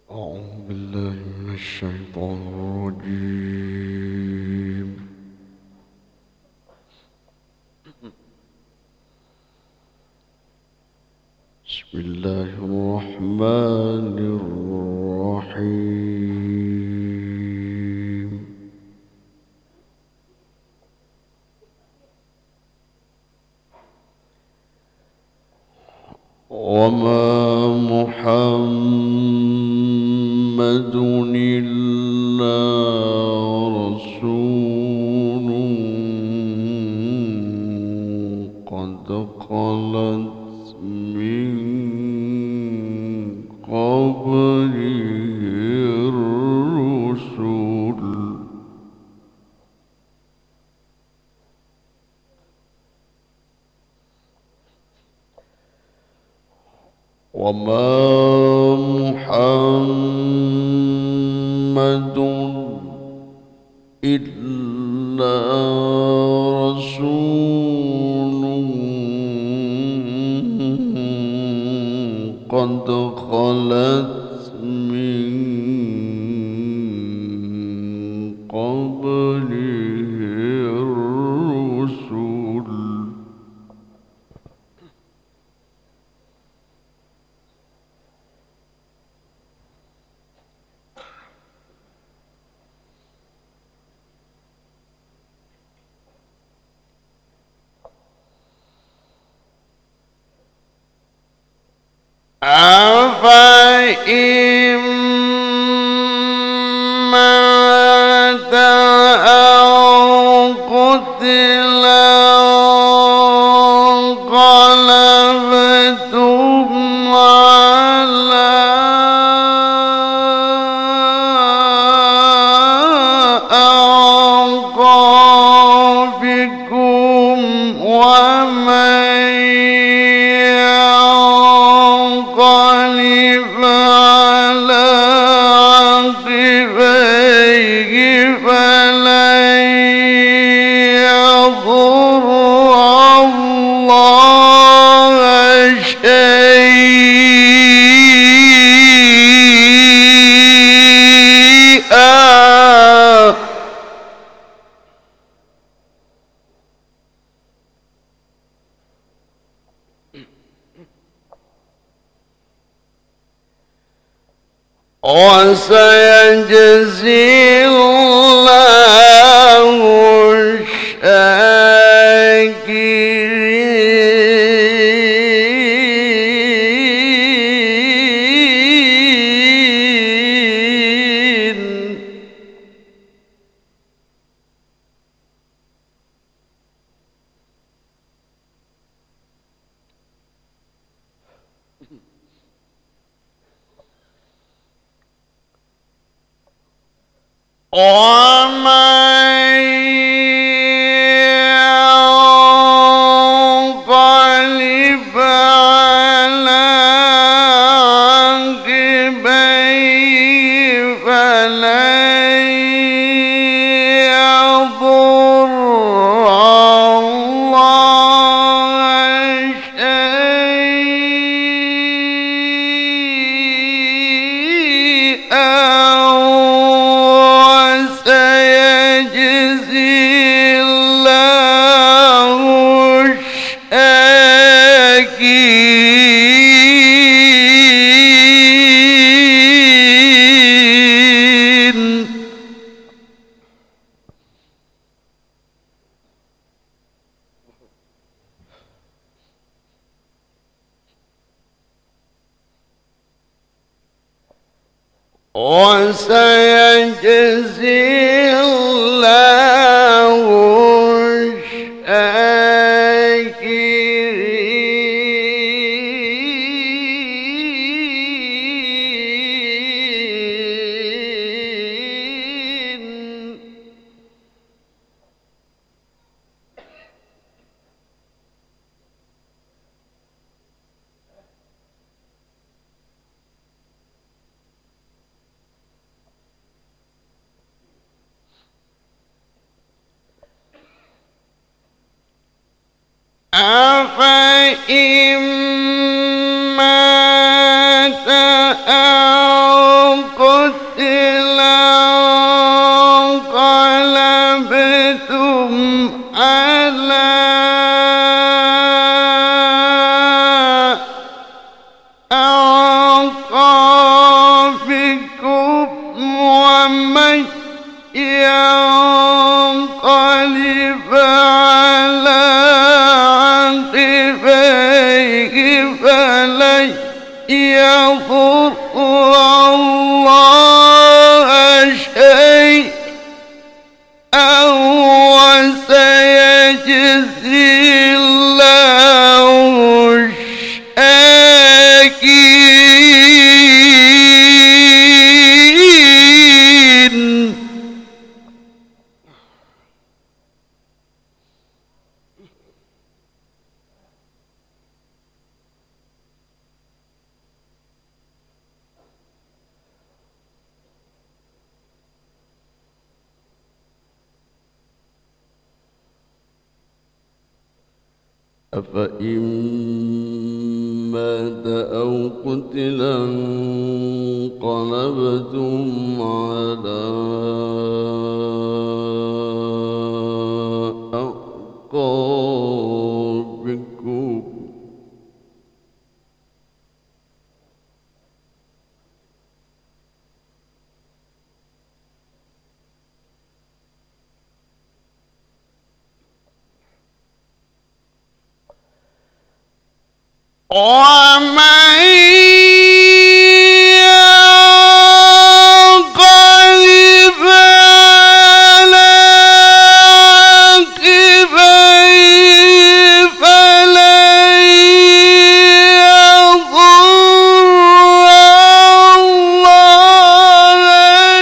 أعوذ بالله من الشيطان الرجيم. بسم الله الرحمن الرحيم. وما محمد إلا رسول قد خلت من قبله الرسل وما محمد إلا رسول قد خلت من قبله الرسل أفإن مات أو قتل انقلبتم على أعقابكم ومن ينقلب على عقبيه فلن يضر الله شيئا وسيجزي الله الشاكرين. ومن ينقلب على عقبيه فلن يضر الله شيئا وسيجزي الله الشاكرين. وسيجزي الله الشاكرين. أفإن مات أو الله شيئا وسيجزي الله الشاكرين. أفإن مات أو قتلا انقلبتم على أعقابكم ومن ينقلب على عقبيه فلن يضر الله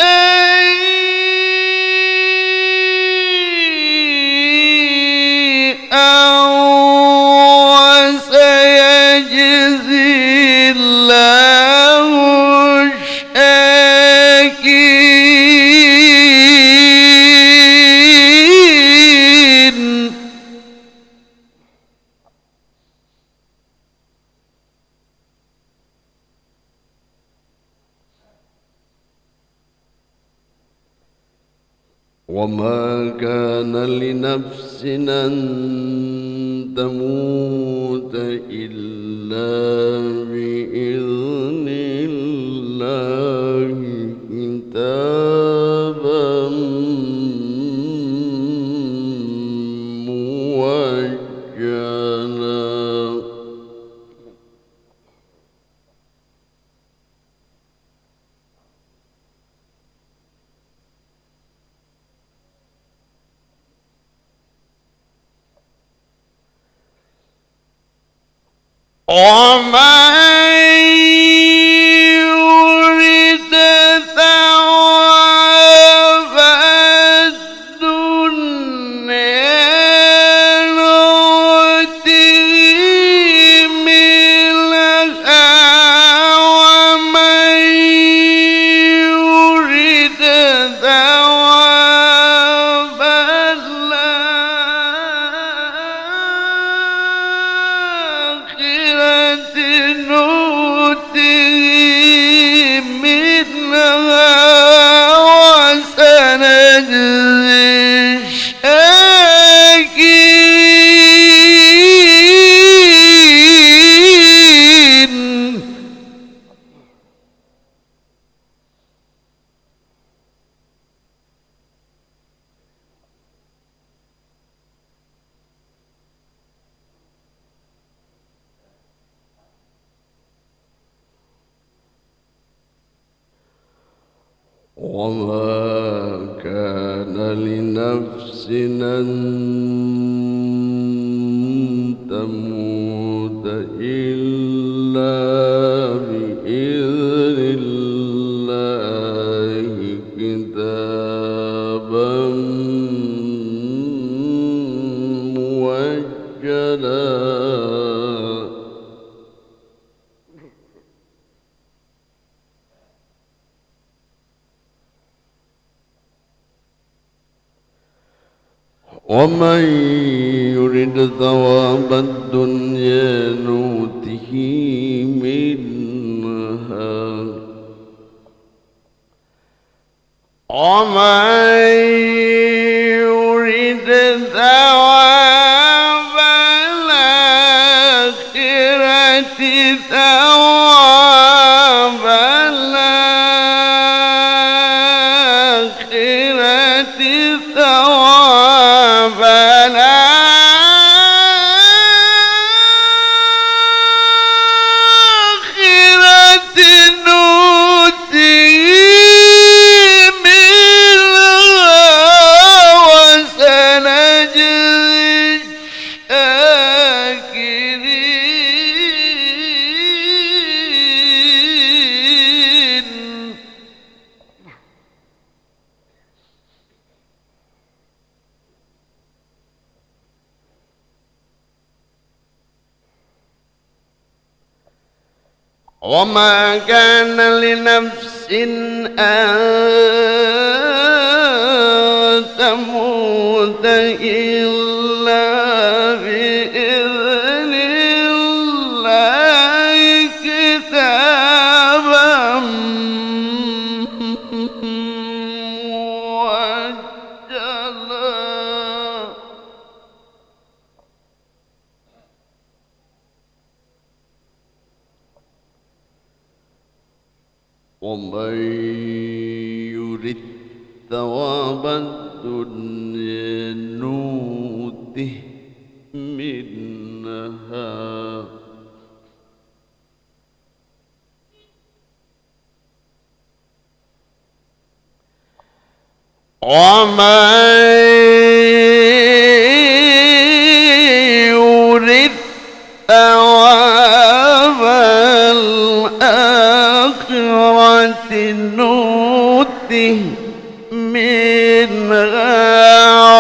شيئا وسيجزي الله الشاكرين. وما كان لنفس أن تموت إلا بإذن الله كتابا مؤجلا. ومن يرد ثواب الدنيا نؤته منها ومن يرد ثواب الآخرة نؤته منها وسنجزي الشاكرين. وما كان لنفس أن تموت إلا بإذن الله كتابا مؤجلا. ومن يرد ثواب الدنيا نؤته منها ومن يرد ثواب الآخرة ثواب الآخرة ثواب الآخرة وما كان لنفس أن تموت إلا بإذن الله كتابا مؤجلا ومن يرد ثواب الدنيا نؤته منها ومن يرد ثواب الآخرة نؤته منها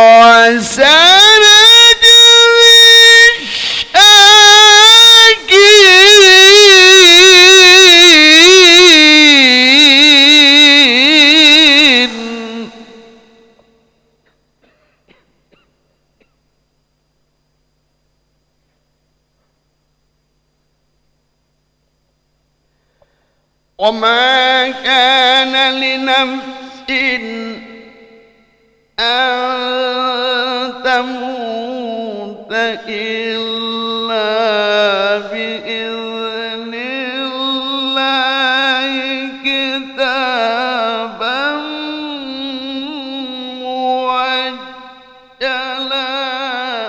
وسنجزي الشاكرين وما كان لنفس أن تموت إلا بإذن الله كتابا مؤجلا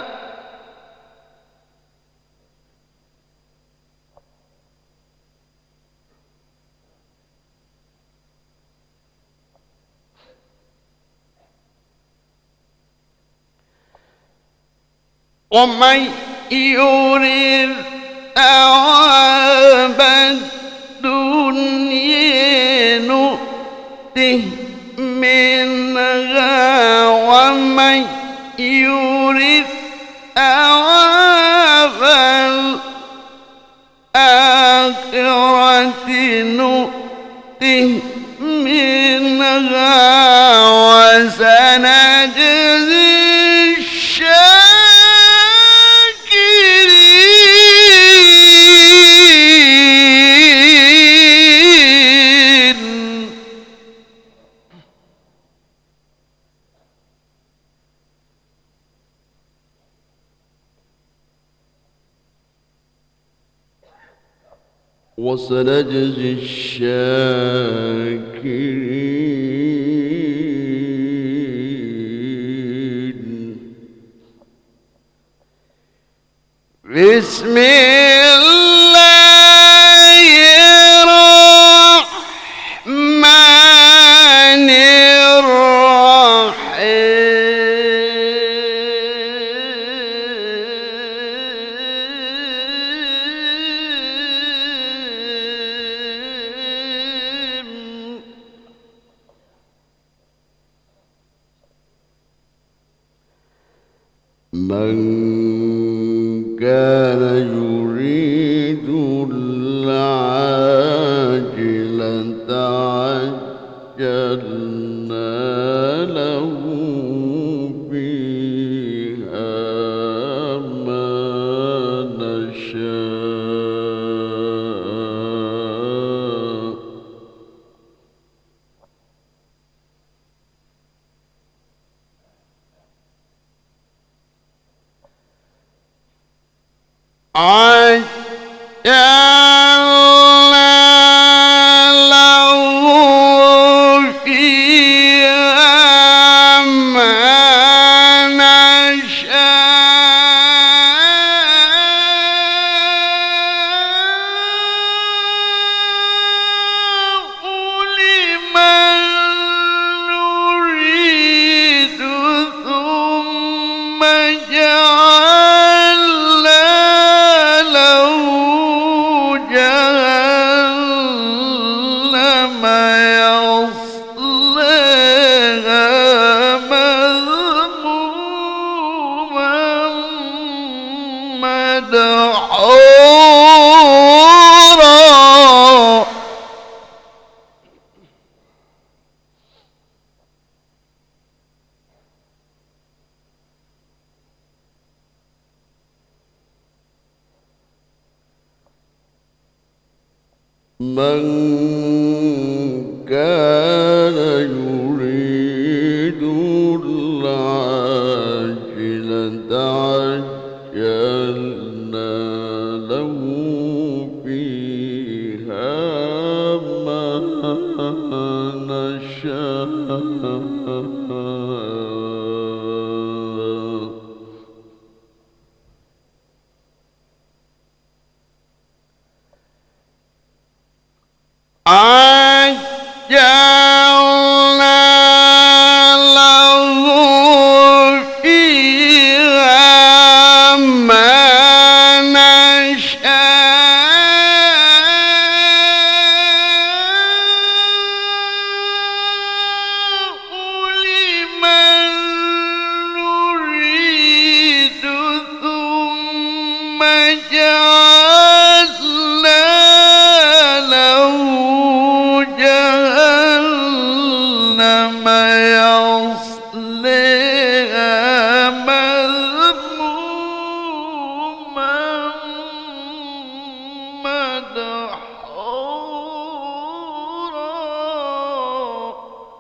ومن يرد ثواب الدنيا نؤته منها ومن يرد ثواب الآخرة نؤته منها وسنجزي وسنجزي الشاكرين بسم الله الرحمن الرحيم من كان يريد العاجلة عجلنا له فيها ما نشاء عجلنا له فيها ما نشاء لمن نريد ثم جعلنا له جهنم يصليها مذموما مدحورا من كان يريد العاجلة عجلنا له فيها ما نشاء عجلنا له فيها ما نشاء لمن نريد ثم جعلنا له جهنم يصليها مذموما مدحورا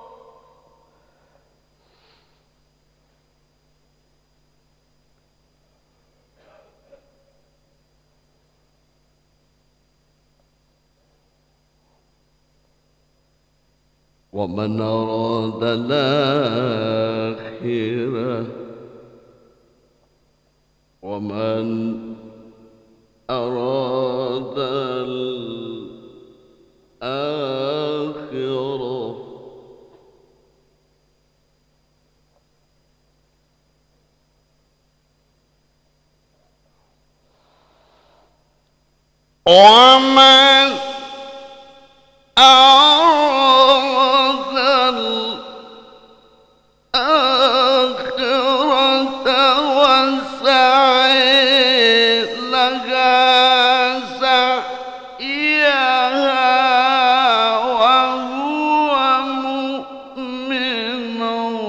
ومن أراد الآخرة ومن أراد الآخرة ومن أراد الآخرة وسعي لها سعيها وهو مؤمن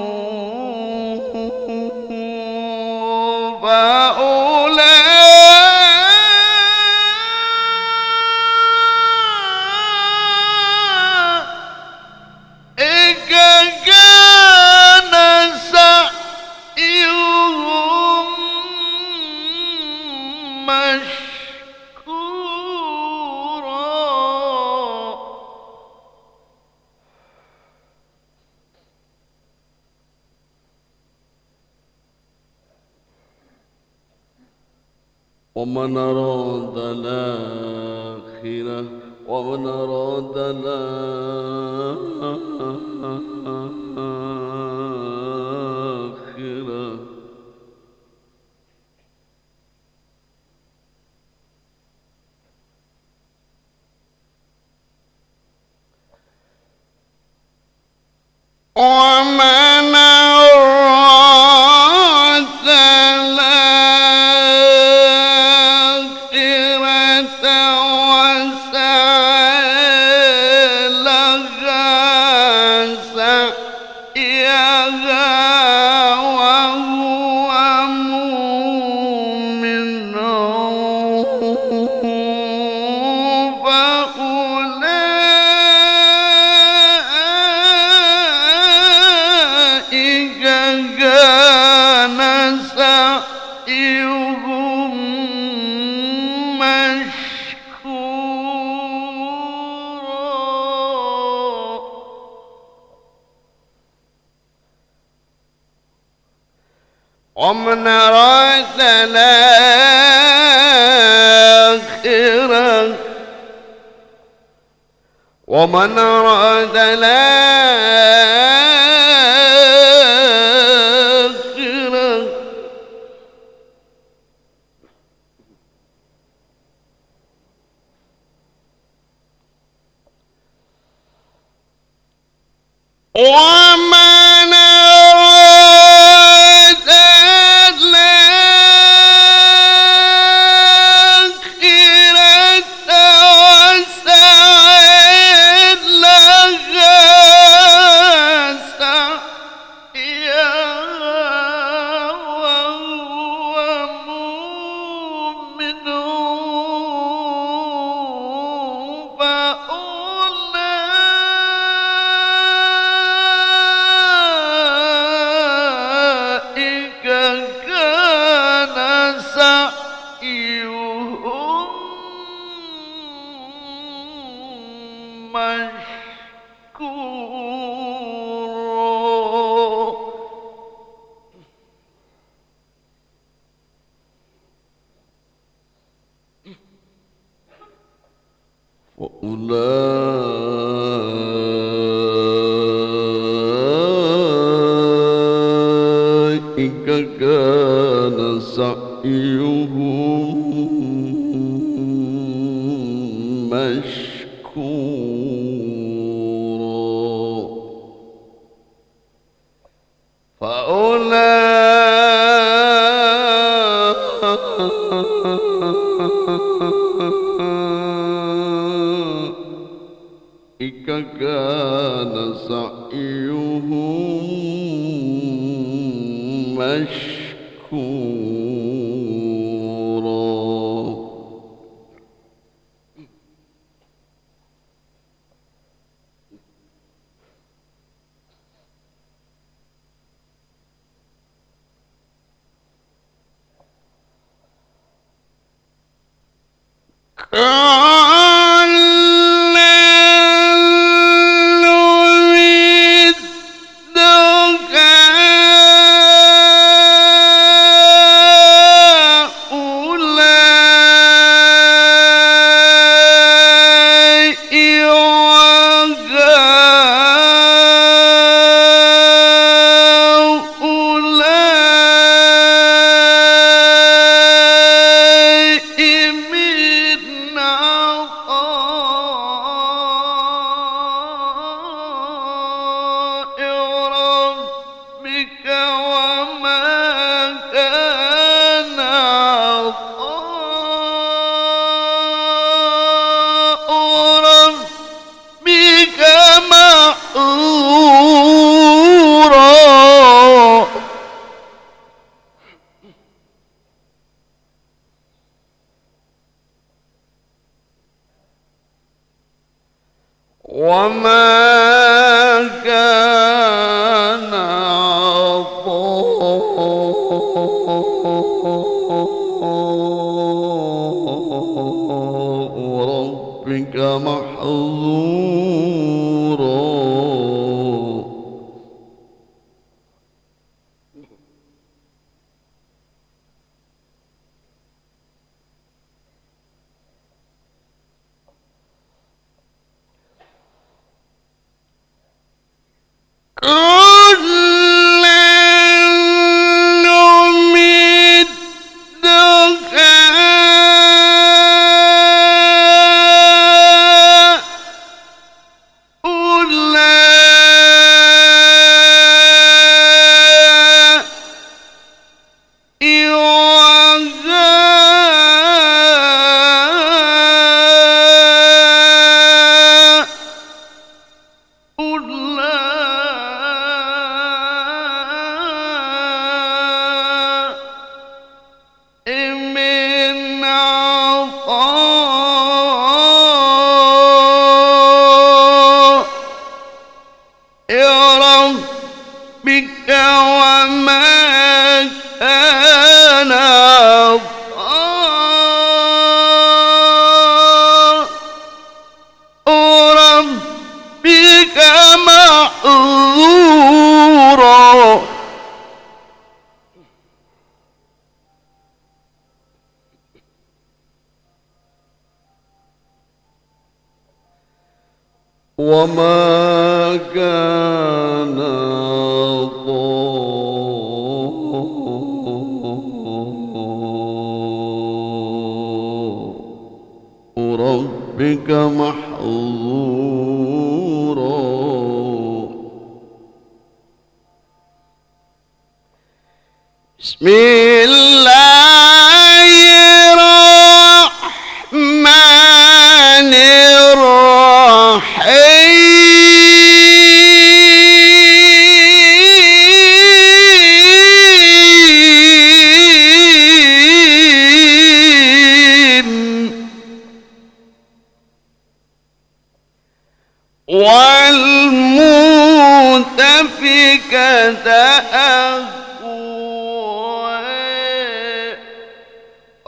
فأولئك كان سعيهم مشكورا ومن أراد الآخرة ومن أراد الآخرة ومن أراد الآخرة وسعى لها سعيها وهو مؤمن فأولئك كان سعيهم مشكورا ومن أراد الآخرة ومن أراد الآخرة ومن أراد الآخرة وسعى لها سعيها وهو مؤمن فأولئك وأولئك كان سعيهم مشكورا فأولئك كان سعيهم مشكورا وما كان عطاء ربك محظورا ربك وما كان عطاء ربك محظورا وما كان عطاء ربك محظورا بسم الله الرحمن الرحيم والمؤتفكة أهوى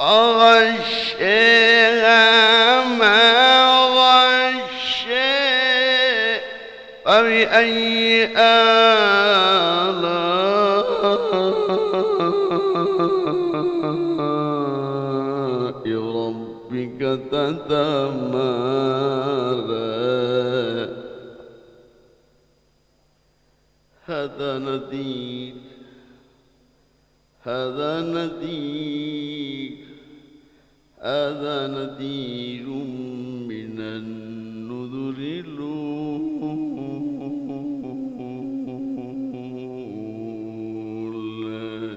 فغشاها ما غشاها فبأي آلاء ربك تتمارى هذا نذير هذا نذير هذا نذير من النذر الأولى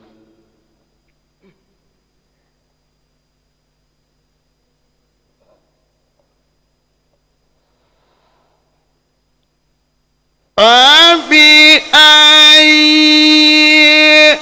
فبأي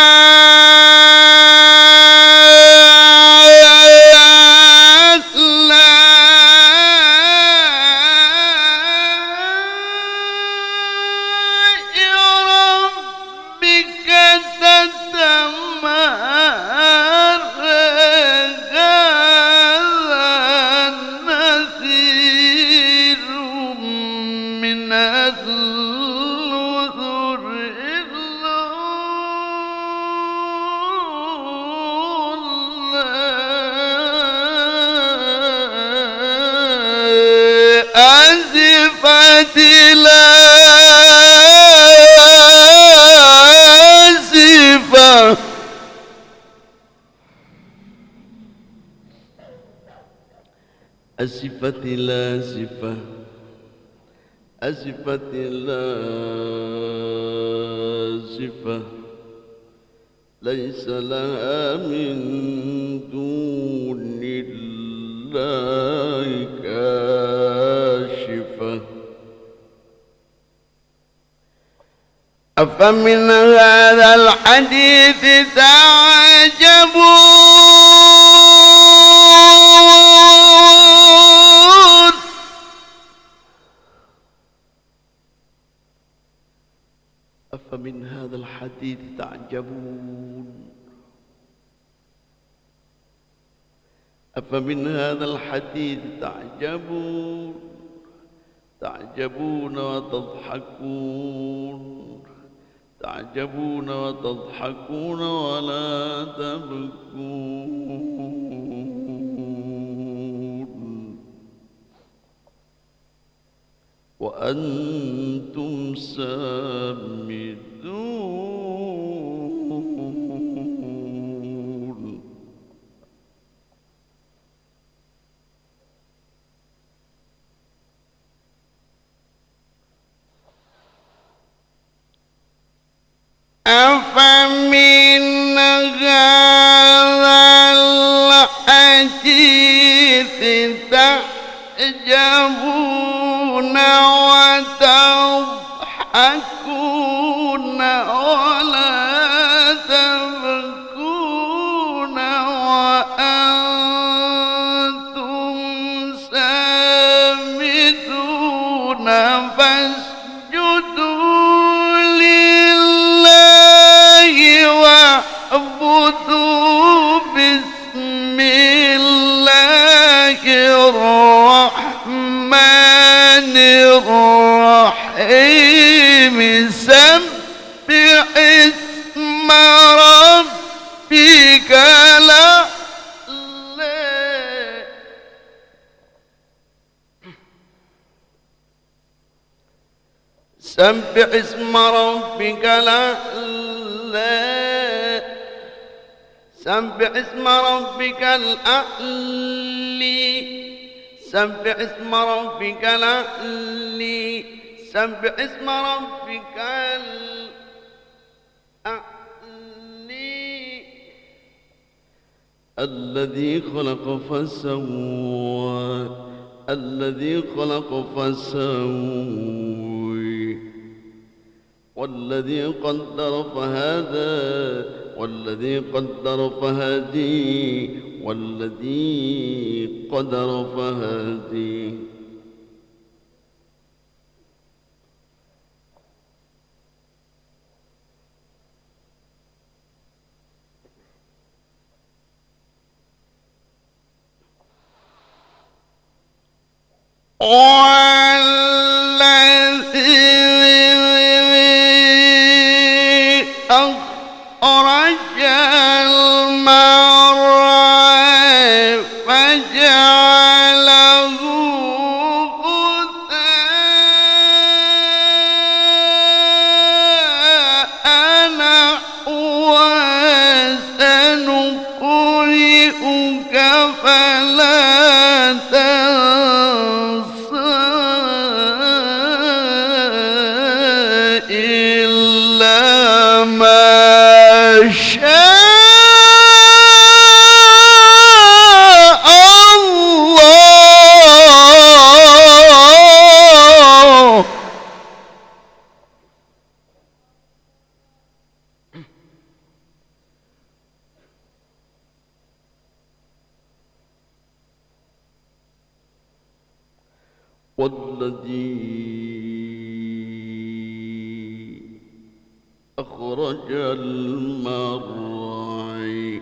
أزفت الآزفة أزفت الآزفة أزفت الآزفة ليس لها من دون الله كاشفة أفمن هذا الحديث تعجبون أفمن هذا الحديث تعجبون أفمن هذا الحديث تعجبون تعجبون وتضحكون تعجبون وتضحكون ولا تبكون وأنتم سامدون أفمن هذا الحديث تعجبون وتضحكون ولا تبكون وأنتم سامدون فاسجدوا لله واعبدوا بسم الله الرحمن الرحيم سبح اسم ربك الأعلى سبح اسم ربك الأعلى سبح اسم ربك الأعلى سبح اسم ربك الأعلى سبح اسم ربك الأعلى الذي خلق فسوى الذي خلق فسوى والذي قدر فهدى والذي قدر فهدي والذي قدر فهدي والذي والذي أخرج المرعى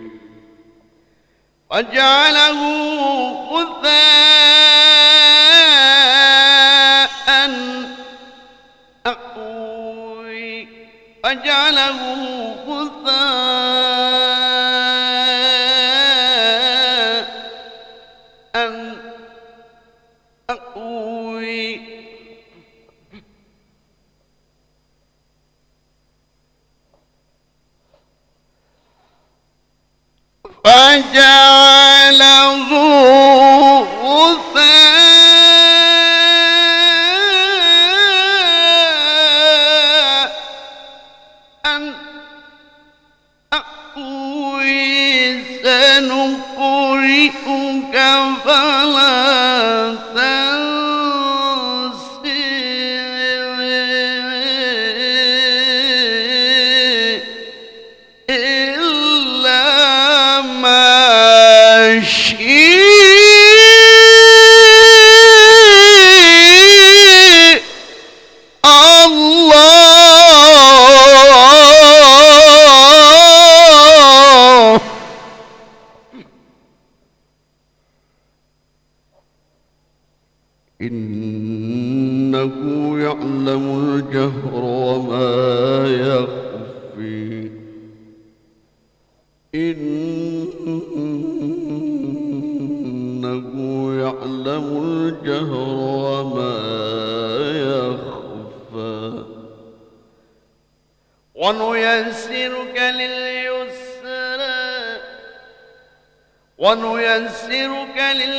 وجعله غثاء أحوي وجعله غثاء أحوي فجعله غثاء أحوي سنقرئك فلا تنسى إلا ما شاء الله إنه يعلم الجهر وما يخفي إنه يعلم الجهر وما يخفى ونيسرك لليسرى ونيسرك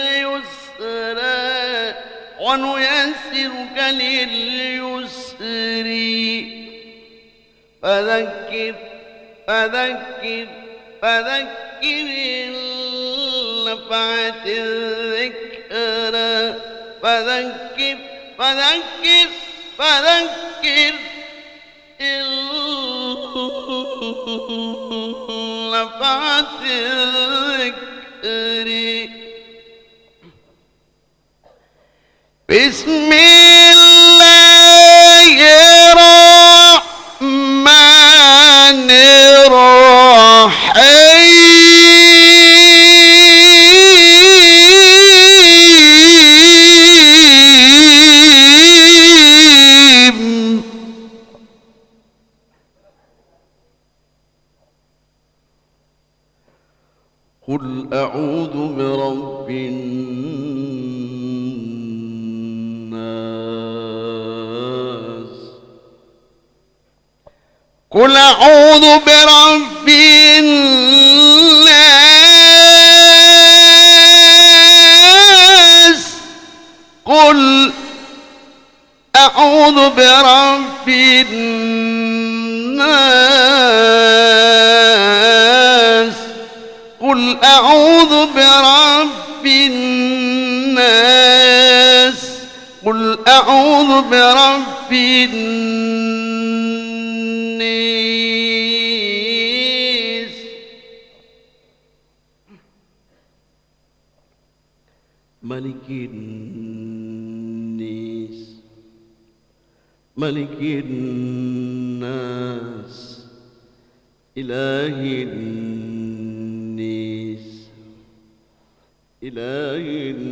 لليسرى ونيسرك لليسر فذكر فذكر فذكر إن نفعت الذكرى فذكر فذكر فذكر إن نفعت الذكر بسم الله الرحمن الرحيم قل أعوذ برب الناس قل أعوذ برب الناس قل أعوذ برب الناس قل أعوذ برب الناس قل أعوذ برب الناس ملك الناس ملك الناس إله الناس إله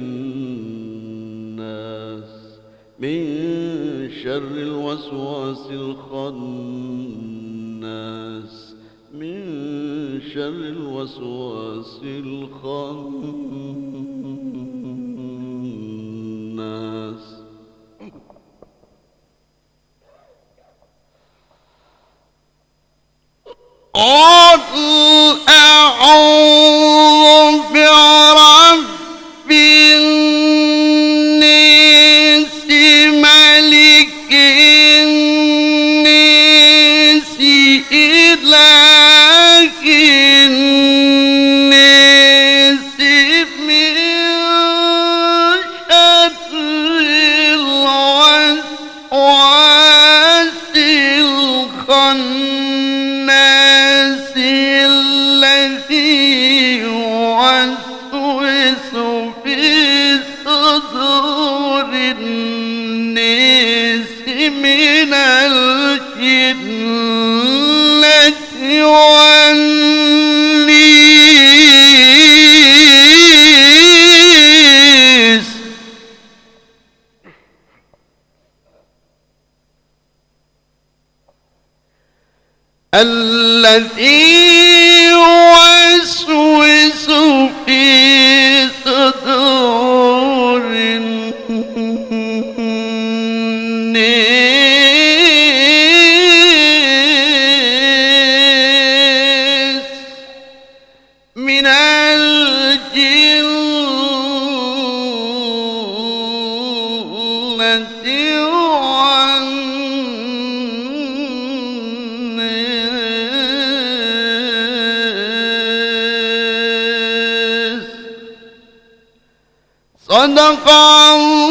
الناس من شر الوسواس الخناس من شر الوسواس الخناس قل أعوذ برب الناس ملك الناس إله الناس من شر الوسواس الخناس الذي يوسوس في صدور الناس من الجنة والنيس الذي يوسوس في صدور الناس من الجنة والناس صدق الله